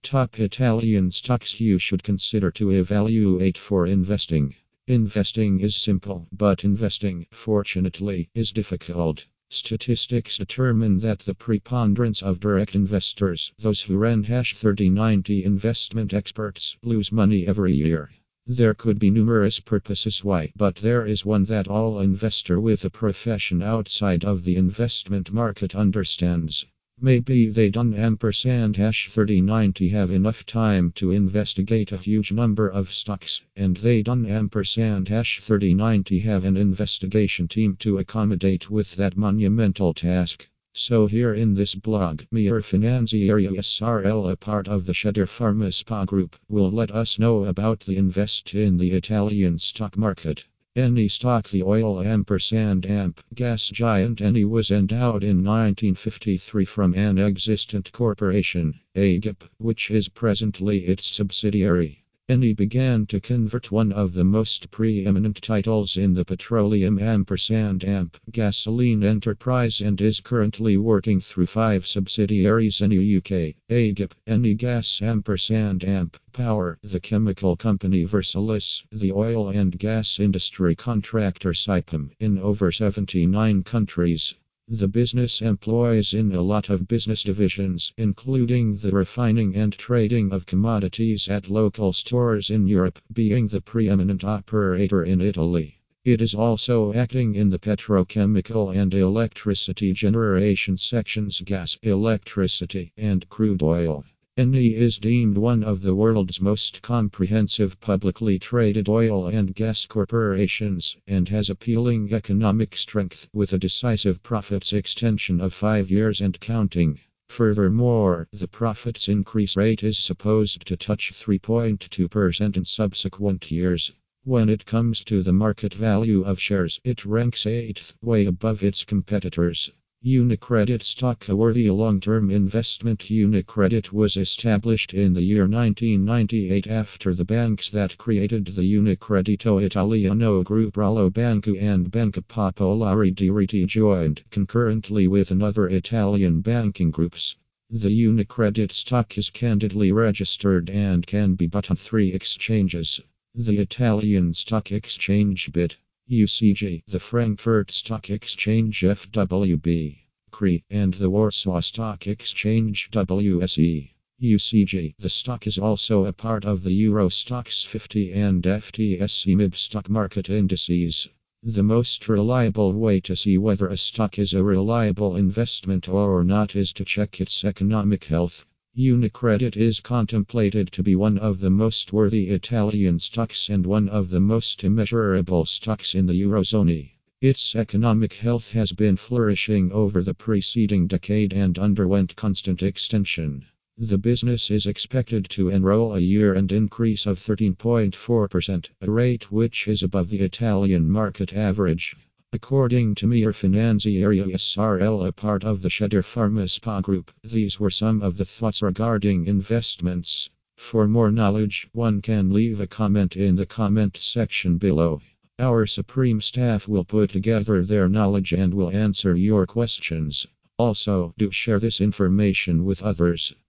Top Italian stocks you should consider to evaluate for investing. Investing is simple, but investing, fortunately, is difficult. Statistics determine that the preponderance of direct investors, those who run #3090 investment experts, lose money every year. There could be numerous purposes why, but there is one that all investor with a profession outside of the investment market understands. Maybe they don't #3090 have enough time to investigate a huge number of stocks, and they don't #3090 have an investigation team to accommodate with that monumental task. So here in this blog, Mir Finanziario SRL, a part of the Schedder Pharma SPA Group, will let us know about the invest in the Italian stock market. Eni stock. The oil amp gas giant Eni was endowed in 1953 from an existent corporation, AGIP, which is presently its subsidiary. Eni began to convert one of the most preeminent titles in the petroleum amp gasoline enterprise and is currently working through 5 subsidiaries: Eni UK, AGIP, Eni Gas amp Power, the chemical company Versalis, the oil and gas industry contractor Saipem, in over 79 countries. The business employs in a lot of business divisions, including the refining and trading of commodities at local stores in Europe, being the preeminent operator in Italy. It is also acting in the petrochemical and electricity generation sections: gas, electricity, and crude oil. Eni is deemed one of the world's most comprehensive publicly traded oil and gas corporations, and has appealing economic strength, with a decisive profits extension of 5 years and counting. Furthermore, the profits increase rate is supposed to touch 3.2% in subsequent years. When it comes to the market value of shares, it ranks 8th, way above its competitors. UniCredit stock, a worthy long-term investment. UniCredit was established in the year 1998 after the banks that created the Unicredito Italiano Group Rallo Banco and Banca Popolare di Rete joined concurrently with another Italian banking groups. The UniCredit stock is candidly registered and can be bought on 3 exchanges: the Italian Stock Exchange BIT, UCG, the Frankfurt Stock Exchange FWB, CRE, and the Warsaw Stock Exchange WSE. UCG. The stock is also a part of the Euro Stoxx 50 and FTSE MIB stock market indices. The most reliable way to see whether a stock is a reliable investment or not is to check its economic health. UniCredit is contemplated to be one of the most worthy Italian stocks and one of the most immeasurable stocks in the Eurozone. Its economic health has been flourishing over the preceding decade and underwent constant extension. The business is expected to enroll a year-end increase of 13.4%, a rate which is above the Italian market average. According to Mir Finanziario SRL, a part of the Schedder Pharma SPA Group, these were some of the thoughts regarding investments. For more knowledge, one can leave a comment in the comment section below. Our supreme staff will put together their knowledge and will answer your questions. Also, do share this information with others.